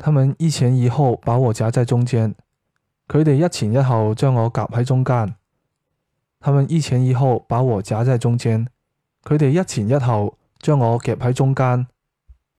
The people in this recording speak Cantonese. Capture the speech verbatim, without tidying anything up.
他們一前一後把我夾在中間，佢哋一前一後將我夾喺中間。他們一前一後把我夾在中間，佢哋一前一後將我夾喺中間。